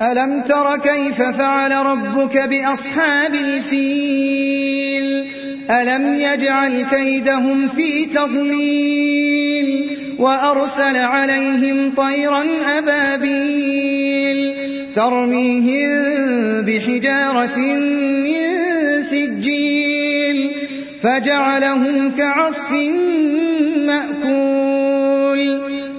ألم تر كيف فعل ربك بأصحاب الفيل ألم يجعل كيدهم في تضليل وأرسل عليهم طيرا أبابيل ترميهم بحجارة من سجيل فجعلهم كعصف مأكول